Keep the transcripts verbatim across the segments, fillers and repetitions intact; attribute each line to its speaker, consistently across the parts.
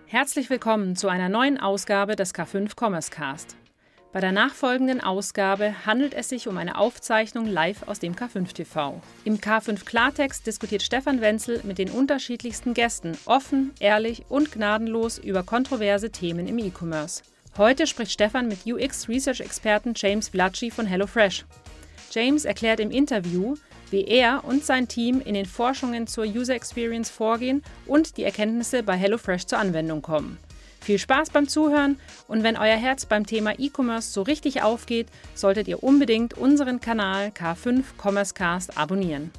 Speaker 1: Herzlich willkommen zu einer neuen Ausgabe des K fünf Commerce Cast. Bei der nachfolgenden Ausgabe handelt es sich um eine Aufzeichnung live aus dem K fünf T V. Im K fünf Klartext diskutiert Stefan Wenzel mit den unterschiedlichsten Gästen offen, ehrlich und gnadenlos über kontroverse Themen im E-Commerce. Heute spricht Stefan mit U X-Research-Experten James Vlacci von HelloFresh. James erklärt im Interview, wie er und sein Team in den Forschungen zur User Experience vorgehen und die Erkenntnisse bei HelloFresh zur Anwendung kommen. Viel Spaß beim Zuhören und wenn euer Herz beim Thema E-Commerce so richtig aufgeht, solltet ihr unbedingt unseren Kanal K fünf Commerce Cast abonnieren.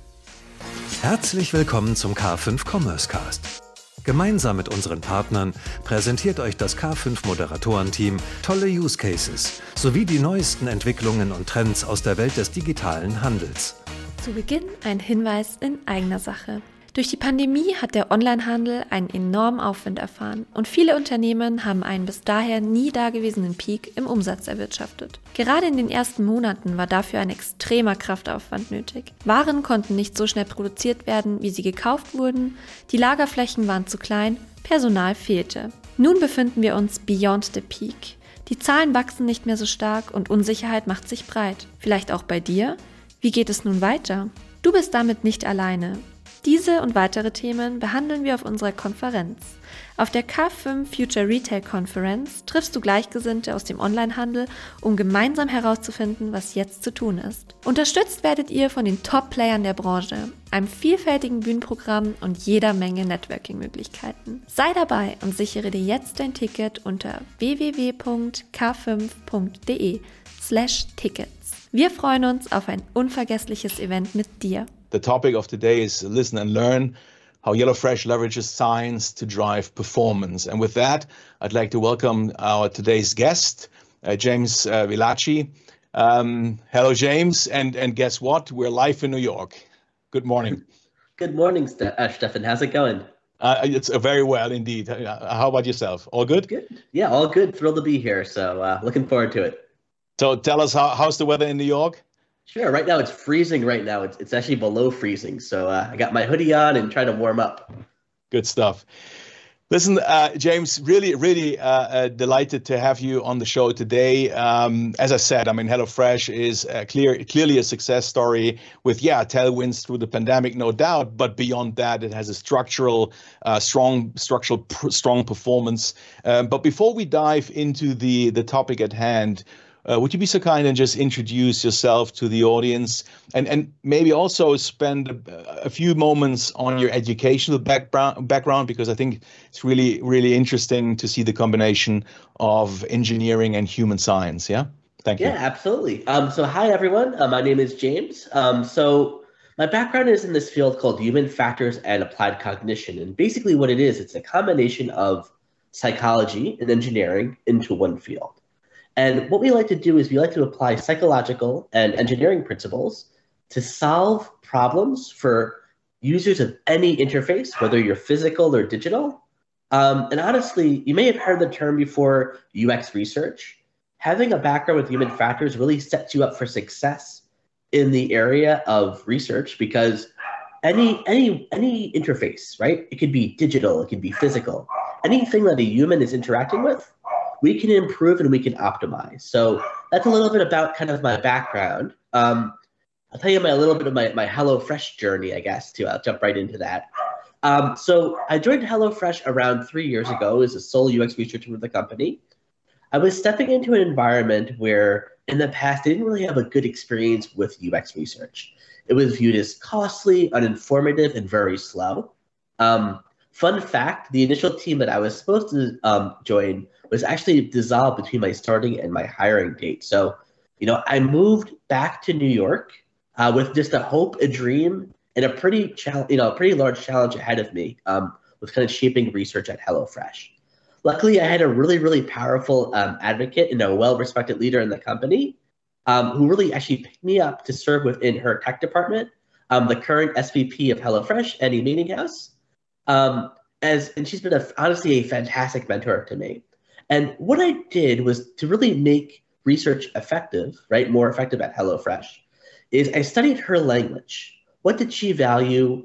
Speaker 2: Herzlich willkommen zum K fünf Commerce Cast. Gemeinsam mit unseren Partnern präsentiert euch das K fünf Moderatorenteam tolle Use Cases sowie die neuesten Entwicklungen und Trends aus der Welt des digitalen Handels.
Speaker 3: Zu Beginn ein Hinweis in eigener Sache. Durch die Pandemie hat der Onlinehandel einen enormen Aufwind erfahren und viele Unternehmen haben einen bis daher nie dagewesenen Peak im Umsatz erwirtschaftet. Gerade in den ersten Monaten war dafür ein extremer Kraftaufwand nötig. Waren konnten nicht so schnell produziert werden, wie sie gekauft wurden, die Lagerflächen waren zu klein, Personal fehlte. Nun befinden wir uns beyond the peak. Die Zahlen wachsen nicht mehr so stark und Unsicherheit macht sich breit. Vielleicht auch bei dir? Wie geht es nun weiter? Du bist damit nicht alleine. Diese und weitere Themen behandeln wir auf unserer Konferenz. Auf der K fünf Future Retail Conference triffst du Gleichgesinnte aus dem Onlinehandel, um gemeinsam herauszufinden, was jetzt zu tun ist. Unterstützt werdet ihr von den Top-Playern der Branche, einem vielfältigen Bühnenprogramm und jeder Menge Networking-Möglichkeiten. Sei dabei und sichere dir jetzt dein Ticket unter w w w punkt k fünf punkt d e slash tickets. Wir freuen uns auf ein unvergessliches Event mit dir.
Speaker 4: The topic of today is listen and learn, how HelloFresh leverages science to drive performance. And with that, I'd like to welcome our today's guest, uh, James uh, Vlacci. Um, hello, James. And, and guess what? We're live in New York. Good morning.
Speaker 5: Good morning, Ste- uh, Stefan. How's it going?
Speaker 4: Uh, it's uh, very well indeed. Uh, how about yourself? All good?
Speaker 5: Good. Yeah, all good. Thrilled to be here. So uh, looking forward to it.
Speaker 4: So tell us, how, how's the weather in New York?
Speaker 5: Sure. Right now it's freezing right now. It's it's actually below freezing. So uh, I got my hoodie on and trying to warm up.
Speaker 4: Good stuff. Listen, uh, James, really, really uh, uh, delighted to have you on the show today. Um, as I said, I mean, HelloFresh is uh, clear, clearly a success story with, yeah, tailwinds through the pandemic, no doubt. But beyond that, it has a structural, uh, strong, structural, pr- strong performance. Um, but before we dive into the the topic at hand, Uh, would you be so kind and just introduce yourself to the audience and, and maybe also spend a, a few moments on your educational background, background, because I think it's really, really interesting to see the combination of engineering and human science. Yeah. Thank you.
Speaker 5: Yeah, absolutely. Um, so hi, everyone. Uh, my name is James. Um, so my background is in this field called human factors and applied cognition. And basically what it is, it's a combination of psychology and engineering into one field. And what we like to do is we like to apply psychological and engineering principles to solve problems for users of any interface, whether you're physical or digital. Um, and honestly, you may have heard the term before, U X research. Having a background with human factors really sets you up for success in the area of research because any any any interface, right? It could be digital, it could be physical. Anything that a human is interacting with, we can improve and we can optimize. So that's a little bit about kind of my background. Um, I'll tell you my, a little bit of my, my HelloFresh journey, I guess, too. I'll jump right into that. Um, so I joined HelloFresh around three years ago as a sole U X researcher with the company. I was stepping into an environment where in the past, I didn't really have a good experience with U X research. It was viewed as costly, uninformative, and very slow. Um, fun fact, the initial team that I was supposed to um, join was actually dissolved between my starting and my hiring date. So, you know, I moved back to New York uh, with just a hope, a dream, and a pretty, chal- you know, a pretty large challenge ahead of me um, with kind of shaping research at HelloFresh. Luckily, I had a really, really powerful um, advocate and a well-respected leader in the company um, who really actually picked me up to serve within her tech department, um, the current S V P of HelloFresh, Annie Meaninghouse. Um, as and she's been a, honestly a fantastic mentor to me. And what I did was to really make research effective, right, more effective at HelloFresh, is I studied her language. What did she value?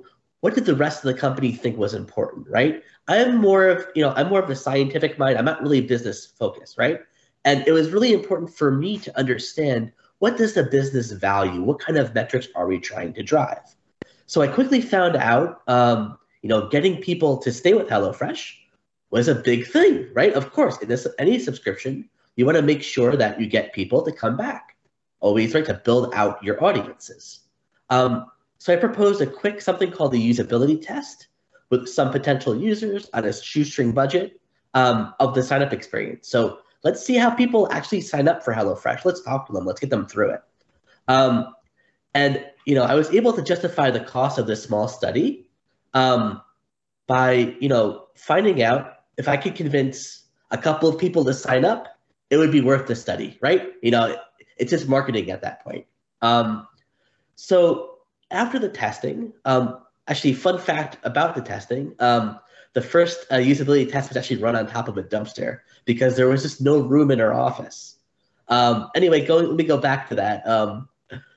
Speaker 5: what did the rest of the company think was important, right? I'm more of, you know, I'm more of a scientific mind. I'm not really business focused, right? And it was really important for me to understand, what does the business value? What kind of metrics are we trying to drive? So I quickly found out, um, you know, getting people to stay with HelloFresh was a big thing, right? Of course, in this, any subscription, you want to make sure that you get people to come back. Always, right, to build out your audiences. Um, so I proposed a quick something called the usability test with some potential users on a shoestring budget um, of the sign-up experience. So let's see how people actually sign up for HelloFresh. Let's talk to them. Let's get them through it. Um, and you know, I was able to justify the cost of this small study um, by you know finding out if I could convince a couple of people to sign up, it would be worth the study, right? You know, it's just marketing at that point. Um, so after the testing, um, actually, fun fact about the testing, um, the first uh, usability test was actually run on top of a dumpster because there was just no room in our office. Um, anyway, go, let me go back to that. Um,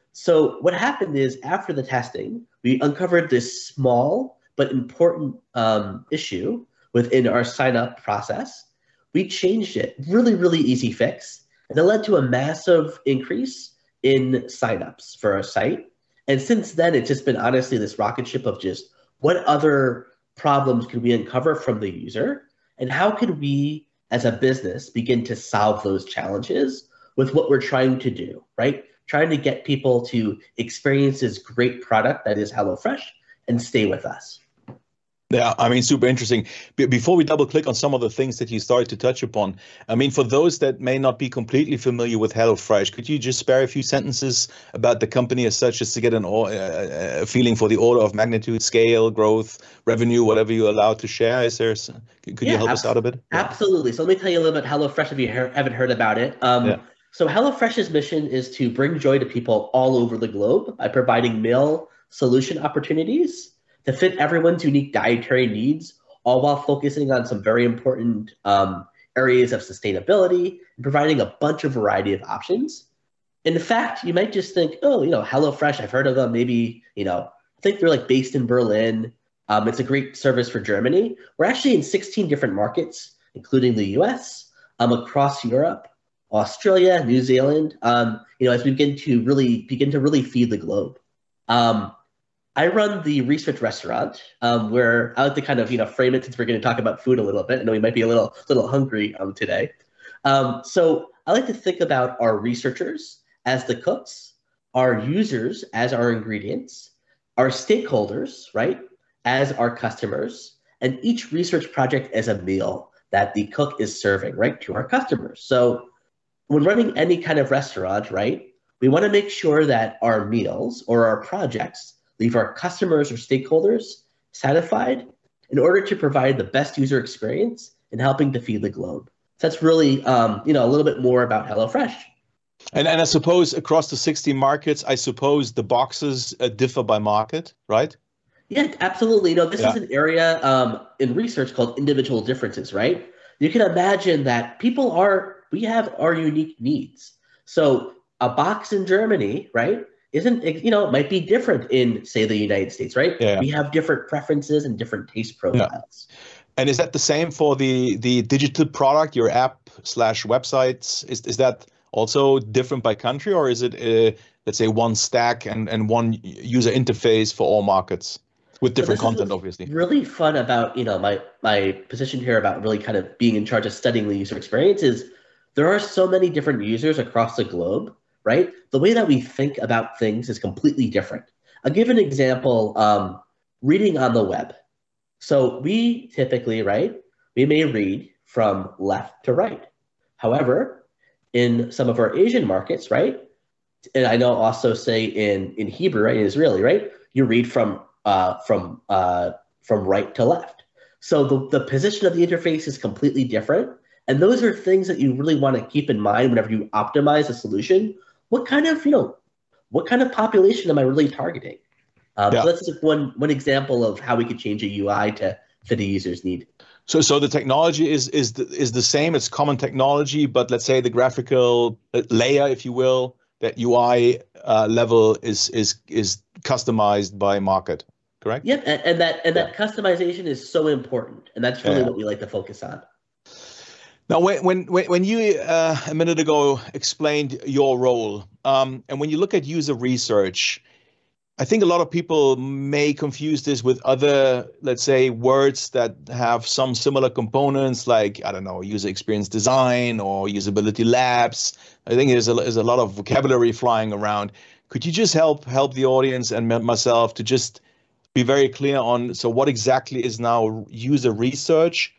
Speaker 5: so what happened is after the testing, we uncovered this small but important um, issue within our sign-up process. We changed it, really, really easy fix, and it led to a massive increase in signups for our site. And since then, it's just been honestly this rocket ship of just what other problems could we uncover from the user, and how could we, as a business, begin to solve those challenges with what we're trying to do, right? Trying to get people to experience this great product that is HelloFresh and stay with us.
Speaker 4: Yeah, I mean, super interesting. Be- before we double click on some of the things that you started to touch upon, I mean, for those that may not be completely familiar with HelloFresh, could you just spare a few sentences about the company as such, just to get an or- uh, a feeling for the order of magnitude, scale, growth, revenue, whatever you're allowed to share? Is there? Could yeah, you help ab- us out a bit?
Speaker 5: Absolutely. So let me tell you a little bit about HelloFresh if you he- haven't heard about it. Um, yeah. So HelloFresh's mission is to bring joy to people all over the globe by providing meal solution opportunities to fit everyone's unique dietary needs, all while focusing on some very important um, areas of sustainability and providing a bunch of variety of options. In fact, you might just think, oh, you know, HelloFresh, I've heard of them. Maybe, you know, I think they're like based in Berlin. Um, it's a great service for Germany. We're actually in sixteen different markets, including the U S, um, across Europe, Australia, New Zealand, um, you know, as we begin to really begin to really feed the globe. Um, I run the research restaurant um, where I like to kind of, you know, frame it since we're going to talk about food a little bit. I know we might be a little, little hungry um, today. Um, so I like to think about our researchers as the cooks, our users as our ingredients, our stakeholders, right, as our customers, and each research project as a meal that the cook is serving, right, to our customers. So when running any kind of restaurant, right, we want to make sure that our meals or our projects leave our customers or stakeholders satisfied in order to provide the best user experience in helping to feed the globe. So that's really, um, you know, a little bit more about HelloFresh.
Speaker 4: And, and I suppose across the sixty markets, I suppose the boxes uh, differ by market, right?
Speaker 5: Yeah, absolutely. You know, this
Speaker 4: yeah.
Speaker 5: is an area um, in research called individual differences, right? You can imagine that people are, we have our unique needs. So a box in Germany, right, isn't, you know, it might be different in, say, the United States, right?
Speaker 4: Yeah.
Speaker 5: We have different preferences and different taste profiles.
Speaker 4: Yeah. And is that the same for the the digital product, your app slash websites? Is is that also different by country, or is it, uh, let's say, one stack and, and one user interface for all markets with different
Speaker 5: so
Speaker 4: content, obviously?
Speaker 5: Really fun about, you know, my my position here about really kind of being in charge of studying the user experience is there are so many different users across the globe, right? The way that we think about things is completely different. I'll give an example, um, reading on the web. So we typically, right, we may read from left to right. However, in some of our Asian markets, right, and I know also say in, in Hebrew, right, in Israeli, right, you read from uh, from uh, from right to left. So the, the position of the interface is completely different. And those are things that you really want to keep in mind whenever you optimize a solution. What kind of, you know, what kind of population am I really targeting? Um, yeah. So that's just one one example of how we could change a U I to fit a user's need.
Speaker 4: So, so the technology is is the, is the same. It's common technology, but let's say the graphical layer, if you will, that U I uh, level is is is customized by market. correct?
Speaker 5: Yep, and, and that and
Speaker 4: Yeah.
Speaker 5: that customization is so important, and that's really
Speaker 4: Yeah.
Speaker 5: what we like to focus on.
Speaker 4: Now, when when when you uh, a minute ago explained your role, um, and when you look at user research, I think a lot of people may confuse this with other, let's say, words that have some similar components, like, I don't know, user experience design or usability labs. I think there's a, there's a lot of vocabulary flying around. Could you just help help the audience and myself to just be very clear on, so what exactly is now user research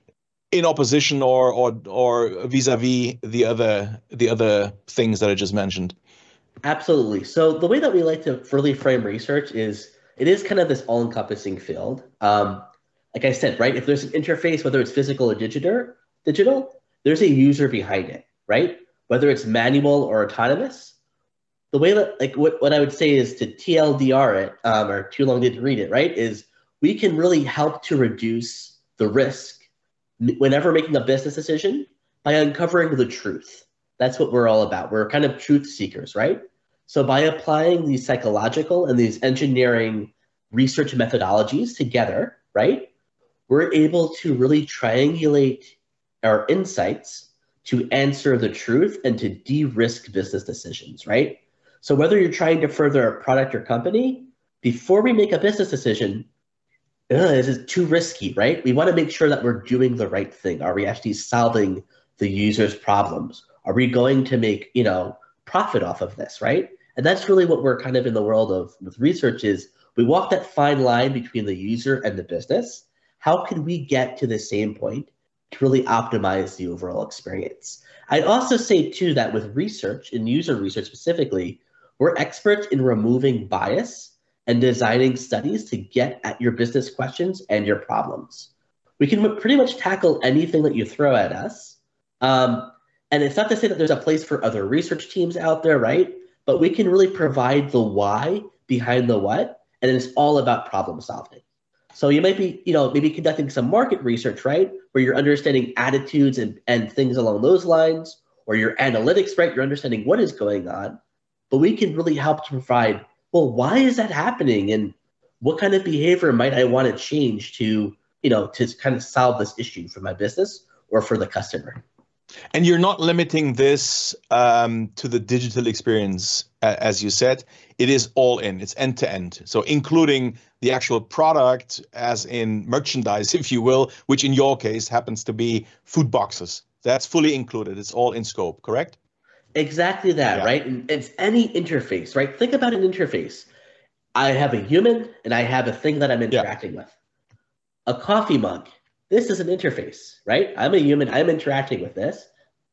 Speaker 4: in opposition or or or vis-a-vis the other the other things that I just mentioned?
Speaker 5: Absolutely. So the way that we like to really frame research is it is kind of this all-encompassing field. Um, like I said, right? If there's an interface, whether it's physical or digital, digital, there's a user behind it, right? Whether it's manual or autonomous. The way that, like, what, what I would say is to T L D R it, um, or too long didn't read it, right? Is we can really help to reduce the risk whenever making a business decision by uncovering the truth. That's what we're all about. We're kind of truth seekers, right? So by applying these psychological and these engineering research methodologies together, right, we're able to really triangulate our insights to answer the truth and to de-risk business decisions, right? So whether you're trying to further a product or company, before we make a business decision, ugh, this is too risky, right? We want to make sure that we're doing the right thing. Are we actually solving the user's problems? Are we going to make, you know, profit off of this, right? And that's really what we're kind of in the world of with research is we walk that fine line between the user and the business. How can we get to the same point to really optimize the overall experience? I'd also say too that with research and user research specifically, we're experts in removing bias and designing studies to get at your business questions and your problems. We can pretty much tackle anything that you throw at us. Um, and it's not to say that there's a place for other research teams out there, right? But we can really provide the why behind the what, and it's all about problem solving. So you might be, you know, maybe conducting some market research, right? Where you're understanding attitudes and, and things along those lines, or your analytics, right? You're understanding what is going on. But we can really help to provide, well, why is that happening? And what kind of behavior might I want to change to, you know, to kind of solve this issue for my business or for the customer?
Speaker 4: And you're not limiting this um, to the digital experience, uh, as you said. It is all in. It's end to end. So including the actual product, as in merchandise, if you will, which in your case happens to be food boxes. That's fully included. It's all in scope, correct?
Speaker 5: Exactly that,
Speaker 4: Yeah.
Speaker 5: right? And it's any interface, right? Think about an interface. I have a human and I have a thing that I'm interacting yeah. with. A coffee mug. This is an interface, right? I'm a human. I'm interacting with this.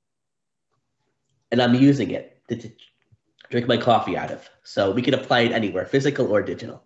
Speaker 5: And I'm using it to, to drink my coffee out of. So we can apply it anywhere, physical or digital.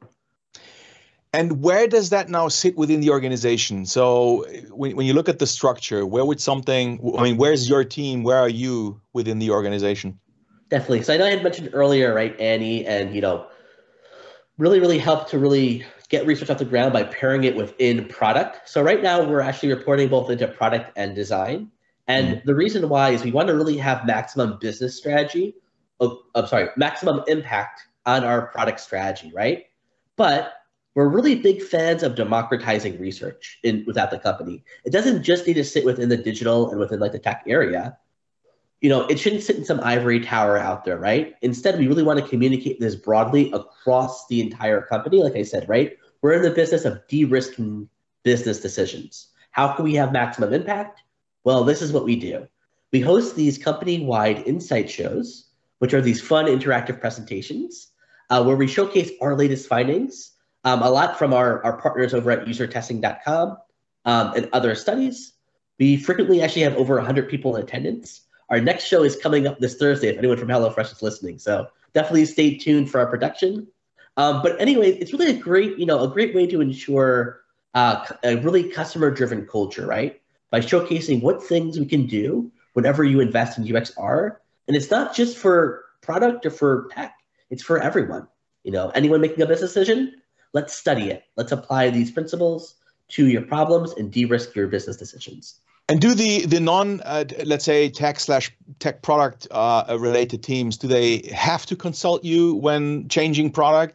Speaker 4: And where does that now sit within the organization? So when, when you look at the structure, where would something, I mean, where's your team? Where are you within the organization?
Speaker 5: Definitely. So I know I had mentioned earlier, right, Annie, and, you know, really, really help to really get research off the ground by pairing it within product. So right now we're actually reporting both into product and design. And mm-hmm. the reason why is we want to really have maximum business strategy, of, I'm sorry, maximum impact on our product strategy, right? But we're really big fans of democratizing research in without the company. It doesn't just need to sit within the digital and within like the tech area. You know, it shouldn't sit in some ivory tower out there, right? Instead, we really want to communicate this broadly across the entire company. Like I said, right? We're in the business of de-risking business decisions. How can we have maximum impact? Well, this is what we do. We host these company-wide insight shows, which are these fun interactive presentations uh, where we showcase our latest findings, um, a lot from our, our partners over at user testing dot com um, and other studies. We frequently actually have over one hundred people in attendance. Our next show is coming up this Thursday, if anyone from HelloFresh is listening. So definitely stay tuned for our production. Um, but anyway, it's really a great, you know, a great way to ensure uh, a really customer-driven culture, right? By showcasing what things we can do whenever you invest in U X R. And it's not just for product or for tech. It's for everyone. You know, anyone making a business decision, let's study it. Let's apply these principles to your problems and de-risk your business decisions.
Speaker 4: And do the the non, uh, let's say, tech slash tech product uh, related teams, do they have to consult you when changing product?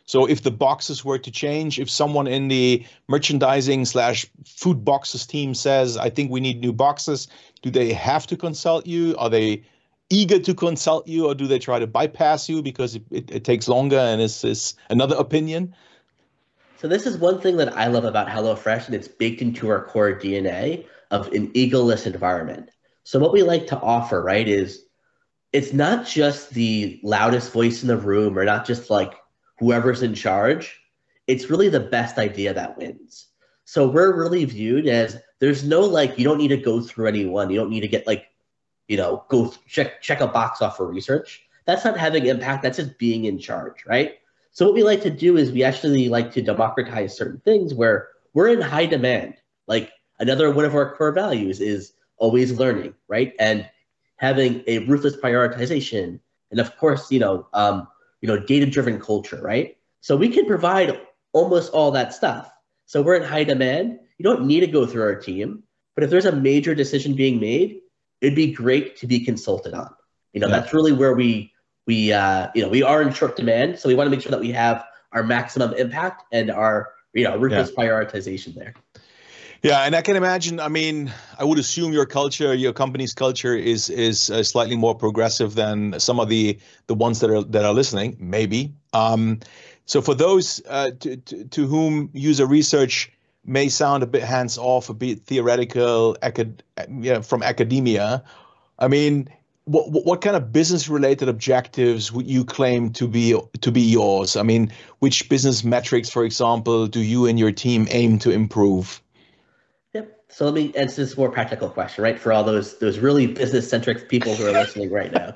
Speaker 4: So if the boxes were to change, if someone in the merchandising slash food boxes team says, I think we need new boxes, do they have to consult you? Are they eager to consult you, or do they try to bypass you because it, it, it takes longer and it's, it's another opinion?
Speaker 5: So this is one thing that I love about HelloFresh, and it's baked into our core D N A of an egoless environment. So what we like to offer, right, is it's not just the loudest voice in the room or not just like whoever's in charge. It's really the best idea that wins. So we're really viewed as there's no like, you don't need to go through anyone. You don't need to get like, you know, go check, check a box off for research. That's not having impact. That's just being in charge, right? So what we like to do is we actually like to democratize certain things where we're in high demand. Like another one of our core values is always learning, right? And having a ruthless prioritization. And of course, you know, um, you know, data-driven culture, right? So we can provide almost all that stuff. So we're in high demand. You don't need to go through our team, but if there's a major decision being made, it'd be great to be consulted on. You know, yeah. That's really where we, we, uh, you know, we are in short demand. So we want to make sure that we have our maximum impact and our, you know, ruthless yeah. prioritization there.
Speaker 4: Yeah, and I can imagine, I mean, I would assume your culture, your company's culture is is uh, slightly more progressive than some of the the ones that are that are listening, maybe. Um, so for those uh, to, to, to whom user research may sound a bit hands-off, a bit theoretical, acad you know, from academia, I mean, what what kind of business-related objectives would you claim to be to be yours? I mean, which business metrics, for example, do you and your team aim to improve?
Speaker 5: Yep. So let me answer this more practical question, right? For all those those really business-centric people who are listening right now.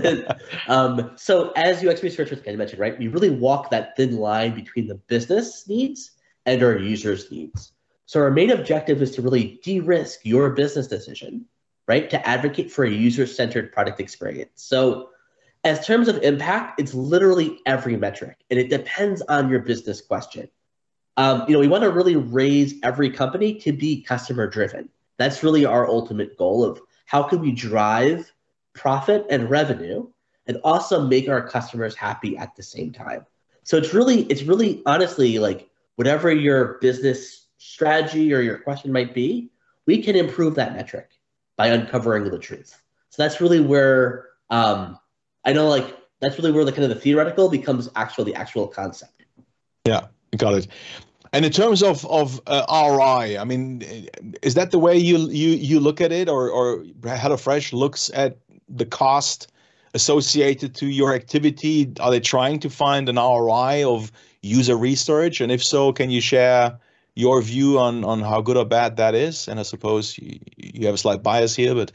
Speaker 5: um, so as U X researchers, kind of mentioned, right, we really walk that thin line between the business needs and our users' needs. So our main objective is to really de-risk your business decision, right? To advocate for a user-centered product experience. So as terms of impact, it's literally every metric, and it depends on your business question. Um, you know, we want to really raise every company to be customer driven. That's really our ultimate goal of how can we drive profit and revenue and also make our customers happy at the same time. So it's really, it's really honestly like whatever your business strategy or your question might be, we can improve that metric by uncovering the truth. So that's really where um, I know like that's really where the kind of the theoretical becomes actually the actual concept.
Speaker 4: Yeah. Got it. And in terms of of uh, R O I, I mean, is that the way you you you look at it, or or HelloFresh looks at the cost associated to your activity? Are they trying to find an R O I of user research? And if so, can you share your view on on how good or bad that is? And I suppose you, you have a slight bias here, but.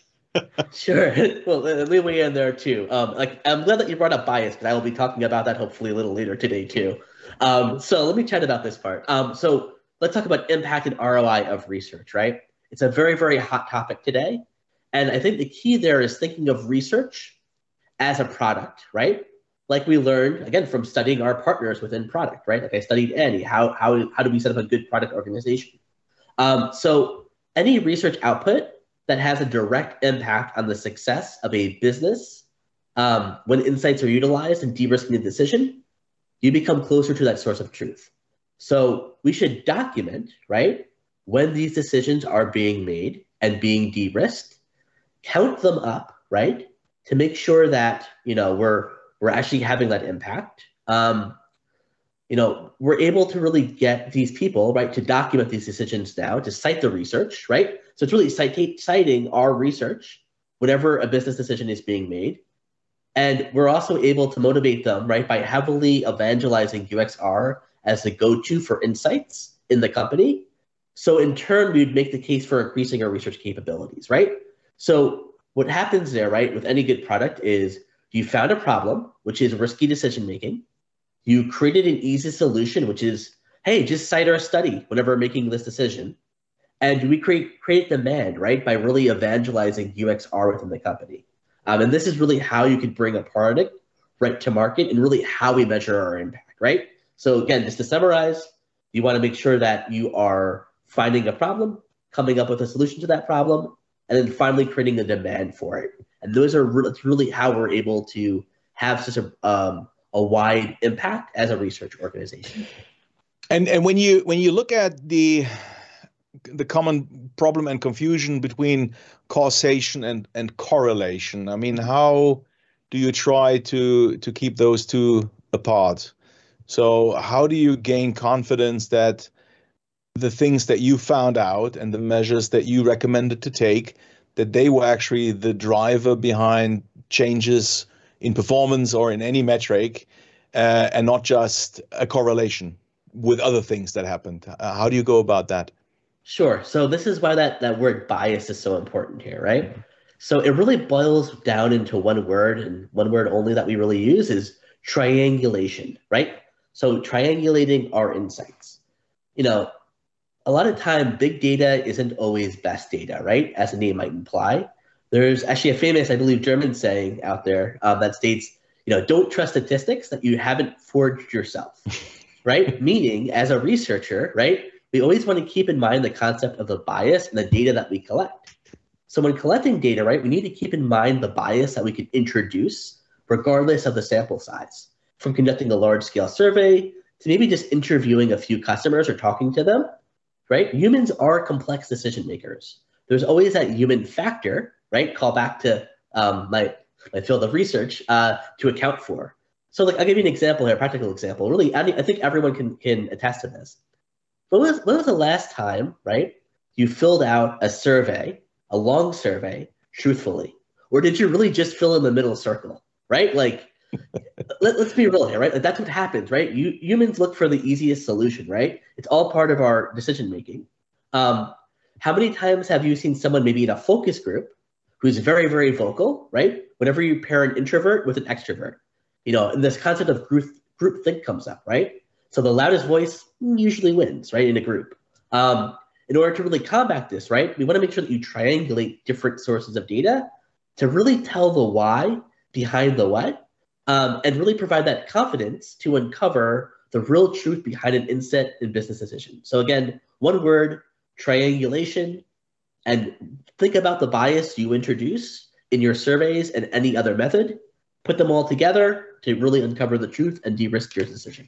Speaker 5: Sure. Well, let me weigh in there too. Um, like I'm glad that you brought up bias, because I will be talking about that hopefully a little later today too. Um, so let me chat about this part. Um, so let's talk about impact and R O I of research, right? It's a very, very hot topic today. And I think the key there is thinking of research as a product, right? Like we learned, again, from studying our partners within product, right? Like I studied Annie, how, how, how do we set up a good product organization? Um, so any research output that has a direct impact on the success of a business, um, when insights are utilized in de-risking a decision, you become closer to that source of truth. So we should document, right, when these decisions are being made and being de-risked, count them up, right, to make sure that, you know, we're we're actually having that impact. Um, you know, we're able to really get these people, right, to document these decisions now, to cite the research, right? So it's really cite, citing our research whenever a business decision is being made. And we're also able to motivate them, right, by heavily evangelizing U X R as the go-to for insights in the company. So in turn, we'd make the case for increasing our research capabilities, right? So what happens there, right, with any good product is you found a problem, which is risky decision-making. You created an easy solution, which is, hey, just cite our study whenever making this decision. And we create, create demand, right, by really evangelizing U X R within the company. Um, and this is really how you could bring a product right to market and really how we measure our impact, right? So again, just to summarize, you want to make sure that you are finding a problem, coming up with a solution to that problem, and then finally creating a demand for it. And those are re- that's really how we're able to have such a, um, a wide impact as a research organization.
Speaker 4: And and when you when you look at the the common problem and confusion between causation and and correlation, I mean, how do you try to to keep those two apart? So how do you gain confidence that the things that you found out and the measures that you recommended to take, that they were actually the driver behind changes in performance or in any metric, uh, and not just a correlation with other things that happened? Uh, how do you go about that?
Speaker 5: Sure. So this is why that, that word bias is so important here, right? So it really boils down into one word, and one word only that we really use is triangulation, right? So triangulating our insights. You know, a lot of time, big data isn't always best data, right? As the name might imply. There's actually a famous, I believe, German saying out there um, that states, you know, don't trust statistics that you haven't forged yourself, right? Meaning, as a researcher, right, we always want to keep in mind the concept of the bias and the data that we collect. So when collecting data, right, we need to keep in mind the bias that we can introduce regardless of the sample size. From conducting a large-scale survey to maybe just interviewing a few customers or talking to them, right? Humans are complex decision makers. There's always that human factor, right? Call back to um, my, my field of research uh, to account for. So like, I'll give you an example here, a practical example. Really, I, I think everyone can, can attest to this. When was, when was the last time, right, you filled out a survey, a long survey, truthfully? Or did you really just fill in the middle circle, right? Like, Let, let's be real here, right? Like, that's what happens, right? You humans look for the easiest solution, right? It's all part of our decision making. Um, how many times have you seen someone maybe in a focus group who's very, very vocal, right? Whenever you pair an introvert with an extrovert, you know, and this concept of group group think comes up, right? So the loudest voice usually wins, right, in a group. Um, in order to really combat this, right, we want to make sure that you triangulate different sources of data to really tell the why behind the what. Um, and really provide that confidence to uncover the real truth behind an insight in business decision. So again, one word, triangulation, and think about the bias you introduce in your surveys and any other method. Put them all together to really uncover the truth and de-risk your decision.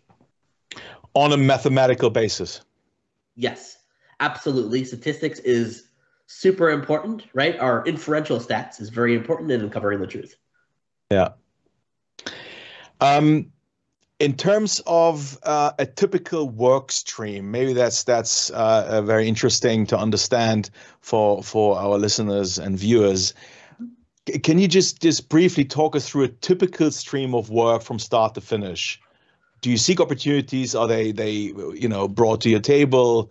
Speaker 4: On a mathematical basis.
Speaker 5: Yes, absolutely. Statistics is super important, right? Our inferential stats is very important in uncovering the truth.
Speaker 4: Yeah. Um, in terms of uh, a typical work stream, maybe that's that's uh, very interesting to understand for for our listeners and viewers. Can you just just briefly talk us through a typical stream of work from start to finish? Do you seek opportunities? Are they they you know brought to your table?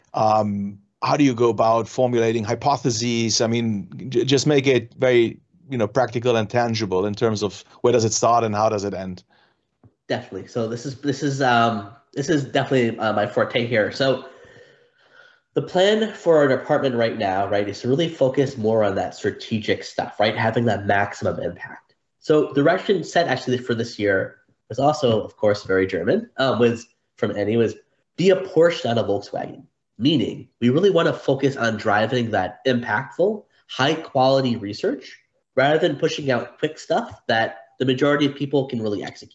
Speaker 4: Um, how do you go about formulating hypotheses? I mean, j- just make it very you know, practical and tangible in terms of where does it start and how does it end?
Speaker 5: Definitely. So this is this is um, this is definitely uh, my forte here. So the plan for our department right now, right, is to really focus more on that strategic stuff, right, having that maximum impact. So the direction set actually for this year was also, of course, very German. Um, was from Annie was be a Porsche, not a Volkswagen. Meaning, we really want to focus on driving that impactful, high quality research, rather than pushing out quick stuff that the majority of people can really execute.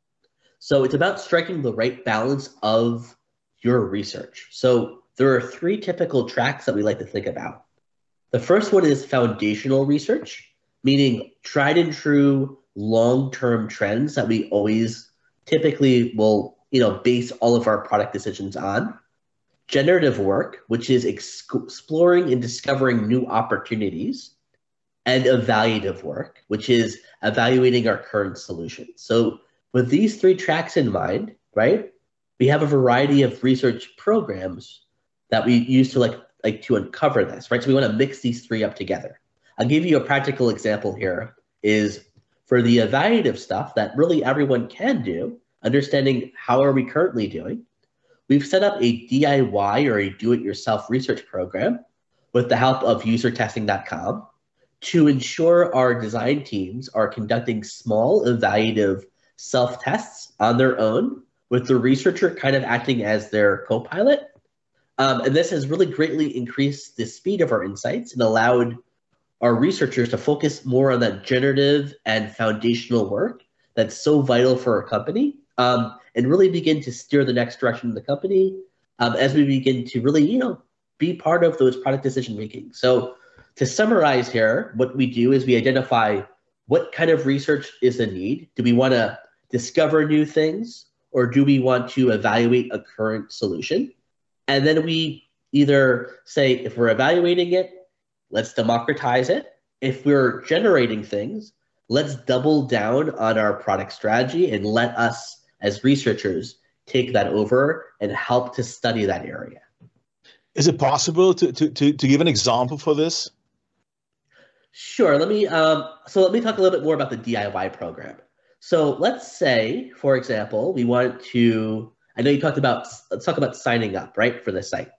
Speaker 5: So it's about striking the right balance of your research. So there are three typical tracks that we like to think about. The first one is foundational research, meaning tried and true long-term trends that we always typically will, you know, base all of our product decisions on. Generative work, which is ex- exploring and discovering new opportunities. And evaluative work, which is evaluating our current solutions. So with these three tracks in mind, right, we have a variety of research programs that we use to like, like to uncover this, right? So we want to mix these three up together. I'll give you a practical example here is for the evaluative stuff that really everyone can do, understanding how are we currently doing, we've set up a D I Y or a do-it-yourself research program with the help of user testing dot com. To ensure our design teams are conducting small evaluative self-tests on their own, with the researcher kind of acting as their co-pilot. Um, and this has really greatly increased the speed of our insights and allowed our researchers to focus more on that generative and foundational work that's so vital for a company, um, and really begin to steer the next direction of the company um, as we begin to really, you know, be part of those product decision making. So to summarize here, what we do is we identify what kind of research is the need. Do we want to discover new things, or do we want to evaluate a current solution? And then we either say, if we're evaluating it, let's democratize it. If we're generating things, let's double down on our product strategy and let us as researchers take that over and help to study that area.
Speaker 4: Is it possible to, to, to, to give an example for this?
Speaker 5: Sure. Let me um, so let me talk a little bit more about the D I Y program. So let's say, for example, we want to, I know you talked about, let's talk about signing up, right, for the site.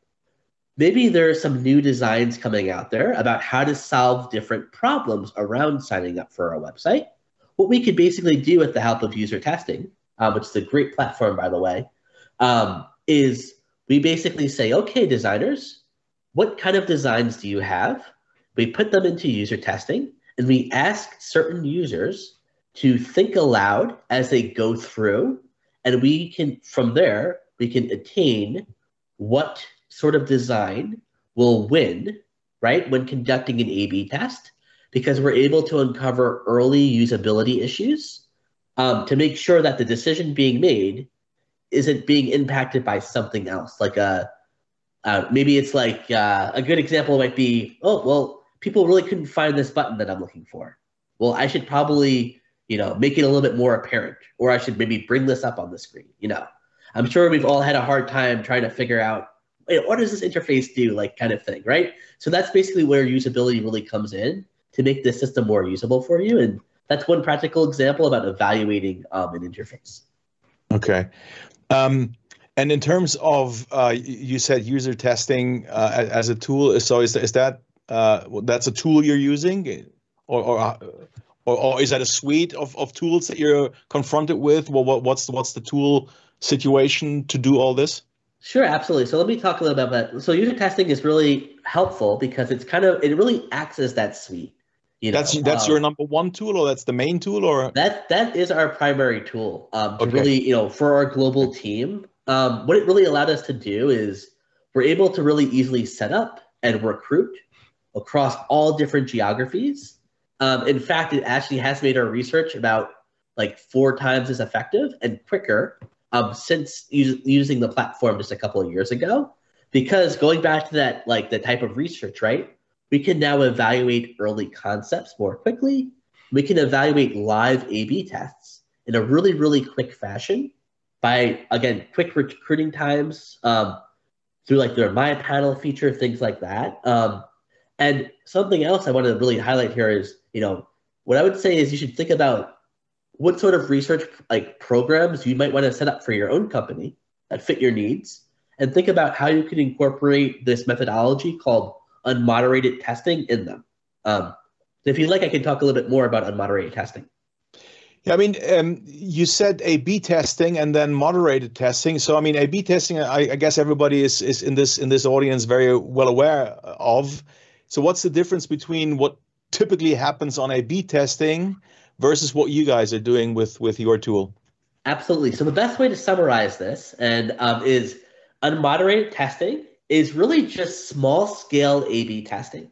Speaker 5: Maybe there are some new designs coming out there about how to solve different problems around signing up for our website. What we could basically do with the help of user testing, um, which is a great platform, by the way, um, is we basically say, okay, designers, what kind of designs do you have? We put them into user testing, and we ask certain users to think aloud as they go through, and we can, from there, we can attain what sort of design will win, right, when conducting an A B test, because we're able to uncover early usability issues um, to make sure that the decision being made isn't being impacted by something else. Like a, uh, maybe it's like uh, a good example might be, oh, well, people really couldn't find this button that I'm looking for. Well, I should probably, you know, make it a little bit more apparent, or I should maybe bring this up on the screen. You know, I'm sure we've all had a hard time trying to figure out, hey, what does this interface do, like kind of thing, right? So that's basically where usability really comes in to make the system more usable for you. And that's one practical example about evaluating um, an interface.
Speaker 4: Okay. Um, and in terms of, uh, you said user testing uh, as a tool. So is, is that, uh, that's a tool you're using, or, or, or, or is that a suite of, of tools that you're confronted with? Well, what, what's, the, what's the tool situation to do all this?
Speaker 5: Sure, absolutely. So let me talk a little bit about that. So user testing is really helpful because it's kind of, it really acts as that suite. You know,
Speaker 4: that's that's um, your number one tool, or that's the main tool, or
Speaker 5: that that is our primary tool um, to
Speaker 4: okay.
Speaker 5: really, you know, for our global team. Um, what it really allowed us to do is we're able to really easily set up and recruit across all different geographies. Um, in fact, it actually has made our research about like four times as effective and quicker um, since us- using the platform just a couple of years ago. Because going back to that, like the type of research, right? We can now evaluate early concepts more quickly. We can evaluate live A B tests in a really, really quick fashion by, again, quick recruiting times um, through like their My Panel feature, things like that. Um, and something else I want to really highlight here is, you know, what I would say is you should think about what sort of research like programs you might want to set up for your own company that fit your needs, and think about how you can incorporate this methodology called unmoderated testing in them. Um, if you'd like, I can talk a little bit more about unmoderated testing.
Speaker 4: Yeah, I mean, um, you said A B testing and then moderated testing. So, I mean, A B testing, I, I guess everybody is is in this in this audience very well aware of. So, what's the difference between what typically happens on A B testing versus what you guys are doing with with your tool?
Speaker 5: Absolutely. So, the best way to summarize this and um, is unmoderated testing is really just small scale A B testing.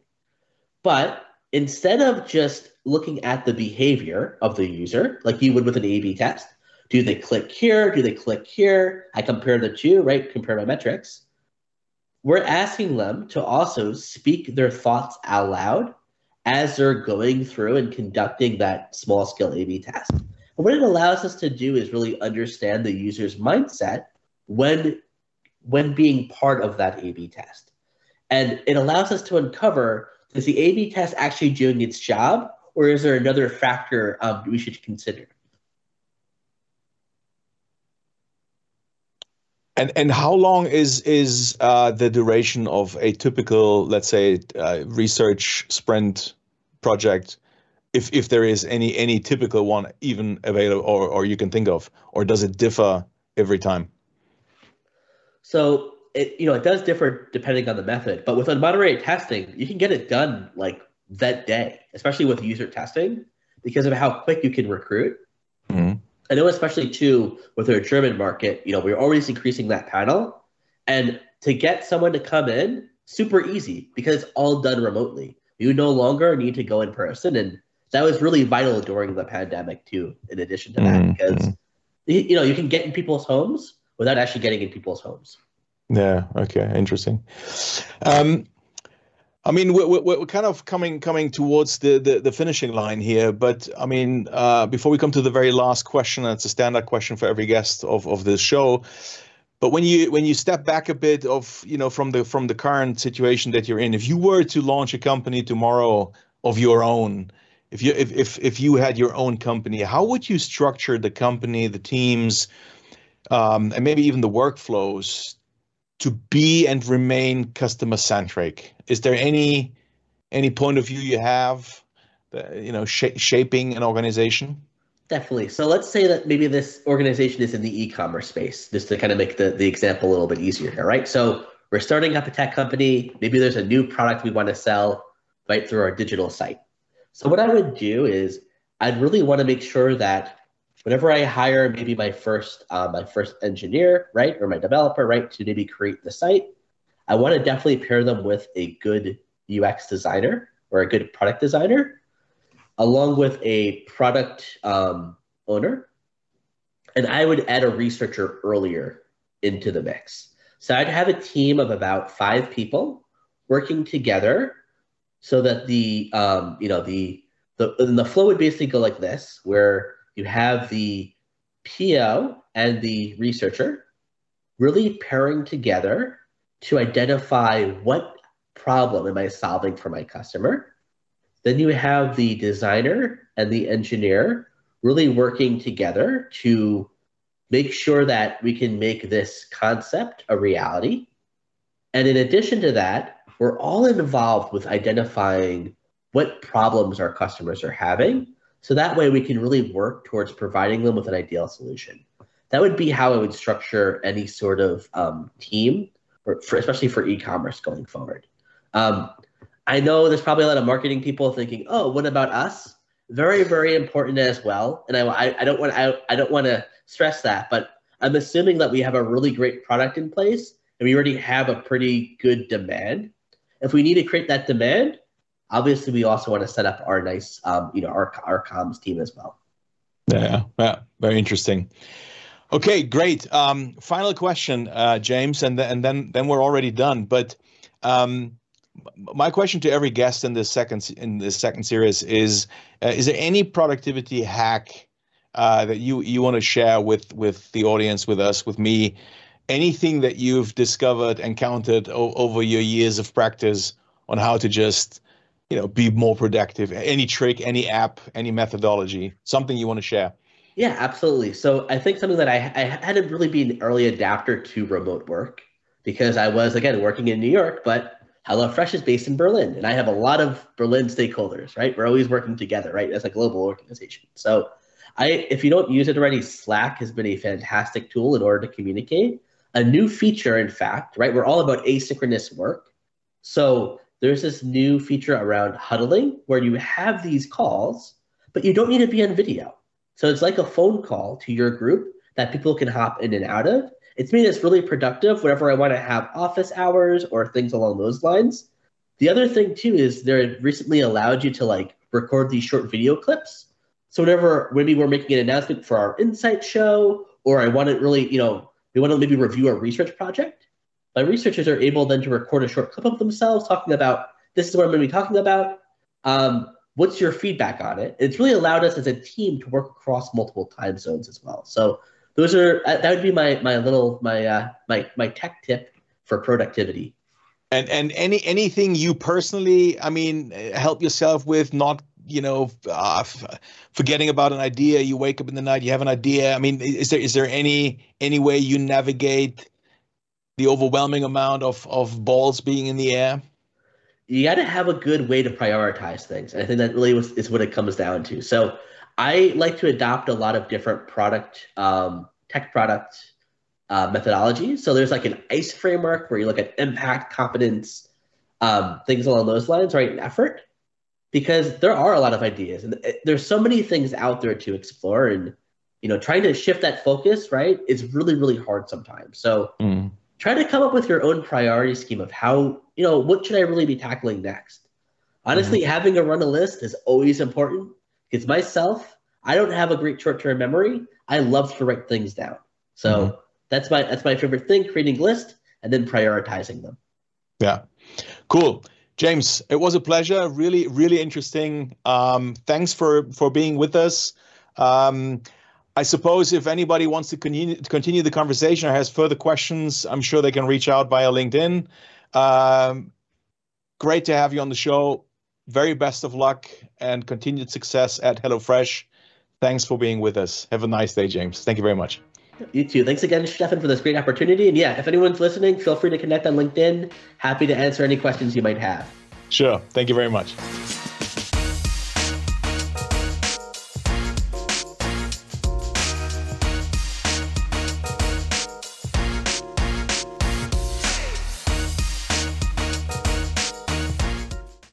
Speaker 5: But instead of just looking at the behavior of the user, like you would with an A B test, do they click here? Do they click here? I compare the two, right? Compare my metrics. We're asking them to also speak their thoughts out loud as they're going through and conducting that small scale A B test. And what it allows us to do is really understand the user's mindset when when being part of that A B test. And it allows us to uncover, is the A B test actually doing its job, or is there another factor um, we should consider?
Speaker 4: And and how long is is uh, the duration of a typical, let's say, uh, research sprint project, if if there is any any typical one even available, or or you can think of, or does it differ every time?
Speaker 5: So it, you know, it does differ depending on the method, but with unmoderated testing, you can get it done like that day, especially with user testing, because of how quick you can recruit. Mm-hmm. I know, especially too with our German market, you know, we're always increasing that panel, and to get someone to come in, super easy because it's all done remotely. You no longer need to go in person, and that was really vital during the pandemic too. In addition to that, mm-hmm. because you know you can get in people's homes without actually getting in people's homes.
Speaker 4: Yeah. Okay. Interesting. Um, I mean, we're, we're, we're kind of coming coming towards the, the, the finishing line here, but I mean, uh, before we come to the very last question, it's a standard question for every guest of, of this show. But when you when you step back a bit of you know from the from the current situation that you're in, if you were to launch a company tomorrow of your own, if you if if if you had your own company, how would you structure the company, the teams, um, and maybe even the workflows to be and remain customer centric? Is there any any point of view you have, that, you know, sh- shaping an organization?
Speaker 5: Definitely. So let's say that maybe this organization is in the e-commerce space, just to kind of make the, the example a little bit easier here, right? So we're starting up a tech company. Maybe there's a new product we want to sell right through our digital site. So what I would do is I'd really want to make sure that whenever I hire maybe my first uh, my first engineer, right, or my developer, right, to maybe create the site, I want to definitely pair them with a good U X designer or a good product designer, along with a product um, owner. And I would add a researcher earlier into the mix. So I'd have a team of about five people working together so that the, um, you know, the, the, the flow would basically go like this, where you have the P O and the researcher really pairing together to identify what problem am I solving for my customer. Then you have the designer and the engineer really working together to make sure that we can make this concept a reality. And in addition to that, we're all involved with identifying what problems our customers are having. So that way we can really work towards providing them with an ideal solution. That would be how I would structure any sort of um, team, or for, especially for e-commerce going forward. Um, I know there's probably a lot of marketing people thinking, "Oh, what about us?" Very, very important as well. And I, I don't want, I, I don't want to stress that, but I'm assuming that we have a really great product in place and we already have a pretty good demand. If we need to create that demand, obviously we also want to set up our nice, um, you know, our our comms team as well.
Speaker 4: Yeah, yeah, very interesting. Okay, great. Um, final question, uh, James, and th- and then then we're already done. But um, my question to every guest in this second in this second series is: uh, is there any productivity hack uh, that you you want to share with with the audience, with us, with me? Anything that you've discovered, encountered o- over your years of practice on how to just, you know, be more productive? Any trick, any app, any methodology, something you want to share?
Speaker 5: Yeah, absolutely. So I think something that I, I had to really be an early adapter to remote work, because I was, again, working in New York, but HelloFresh is based in Berlin, and I have a lot of Berlin stakeholders, right? We're always working together, right, as a global organization. So I, if you don't use it already, Slack has been a fantastic tool in order to communicate. A new feature, in fact, right? We're all about asynchronous work. So there's this new feature around huddling where you have these calls, but you don't need to be on video. So it's like a phone call to your group that people can hop in and out of. It's made us really productive whenever I want to have office hours or things along those lines. The other thing too is they recently allowed you to like record these short video clips. So whenever maybe we're making an announcement for our Insight show, or I want to really, you know, we want to maybe review a research project, my researchers are able then to record a short clip of themselves talking about, this is what I'm going to be talking about. Um, what's your feedback on it? It's really allowed us as a team to work across multiple time zones as well. So those are, that would be my my little, my uh, my my tech tip for productivity.
Speaker 4: And and any anything you personally, I mean, help yourself with, not, you know, uh, f- forgetting about an idea. You wake up in the night, you have an idea. I mean, is there is there any any way you navigate the overwhelming amount of of balls being in the air?
Speaker 5: You got to have a good way to prioritize things. And I think that really was, is what it comes down to. So I like to adopt a lot of different product, um, tech product uh, methodologies. So there's like an ICE framework where you look at impact, competence, um, things along those lines, right? And effort, because there are a lot of ideas and there's so many things out there to explore. And you know, trying to shift that focus, right, is really, really hard sometimes. So mm. try to come up with your own priority scheme of how, you know, what should I really be tackling next? Honestly, mm-hmm. having a run a list is always important because myself, I don't have a great short-term memory. I love to write things down. So mm-hmm. that's my that's my favorite thing, creating a list and then prioritizing them.
Speaker 4: Yeah, cool. James, it was a pleasure. Really, really interesting. Um, thanks for, for being with us. Um, I suppose if anybody wants to continue, to continue the conversation or has further questions, I'm sure they can reach out via LinkedIn. Um, great to have you on the show. Very best of luck and continued success at HelloFresh. Thanks for being with us. Have a nice day, James. Thank you very much.
Speaker 5: You too. Thanks again, Stefan, for this great opportunity. And yeah, if anyone's listening, feel free to connect on LinkedIn. Happy to answer any questions you might have.
Speaker 4: Sure. Thank you very much.